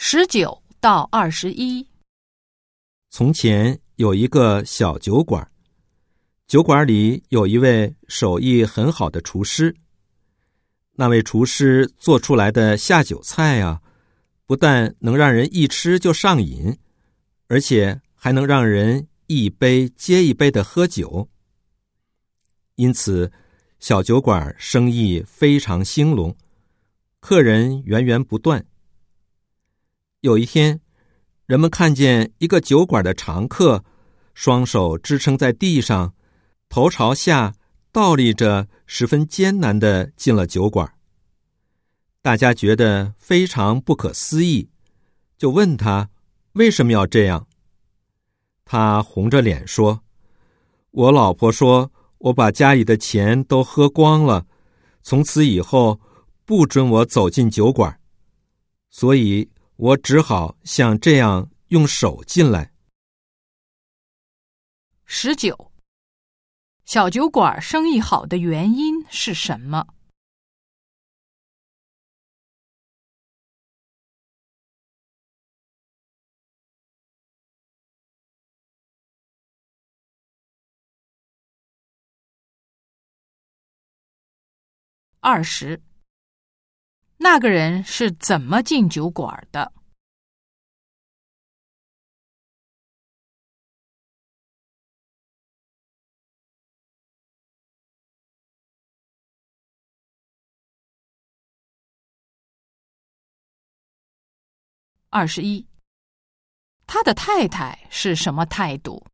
19到21。 从前有一个小酒馆，酒馆里有一位手艺很好的厨师。那位厨师做出来的下酒菜啊，不但能让人一吃就上瘾，而且还能让人一杯接一杯的喝酒。因此，小酒馆生意非常兴隆，客人源源不断。有一天，人们看见一个酒馆的常客，双手支撑在地上，头朝下倒立着，十分艰难地进了酒馆。大家觉得非常不可思议，就问他为什么要这样。他红着脸说：我老婆说我把家里的钱都喝光了，从此以后不准我走进酒馆，所以我只好像这样用手进来。 19. 小酒馆生意好的原因是什么？20. 那个人是怎么进酒馆的？21. 他的太太是什么态度